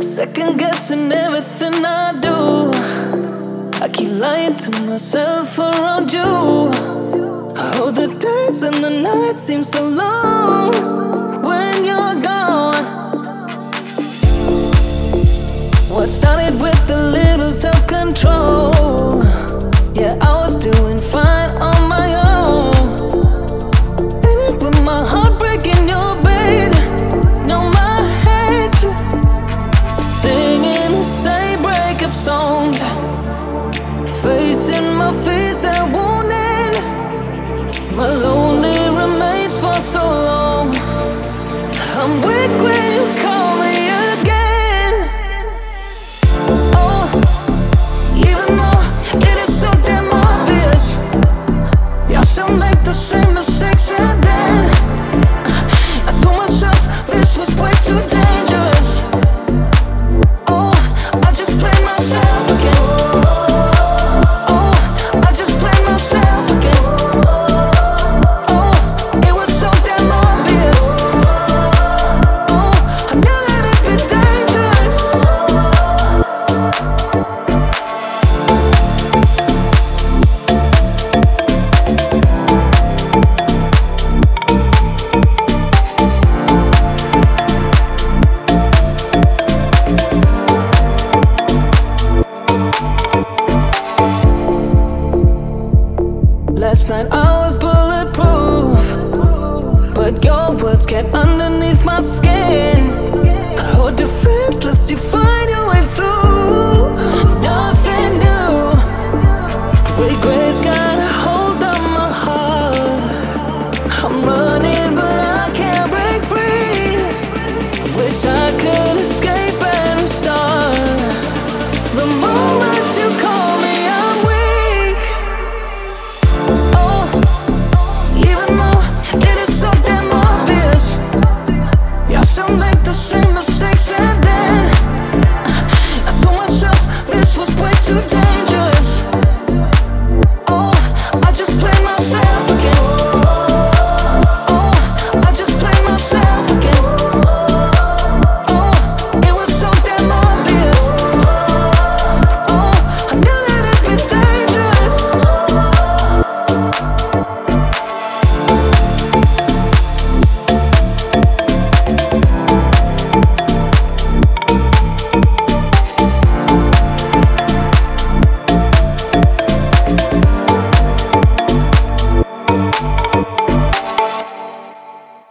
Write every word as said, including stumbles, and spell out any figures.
second guessing everything I do. I keep lying to myself around you. Oh, the days and the nights seem so long when you're gone. What started with a little self-control, yeah, I was doing fine on my own. Ended with my heart breaking your bed. No, my head's singing the same breakup songs, facing my fears that won't end. My lonely remains for so long. I'm weak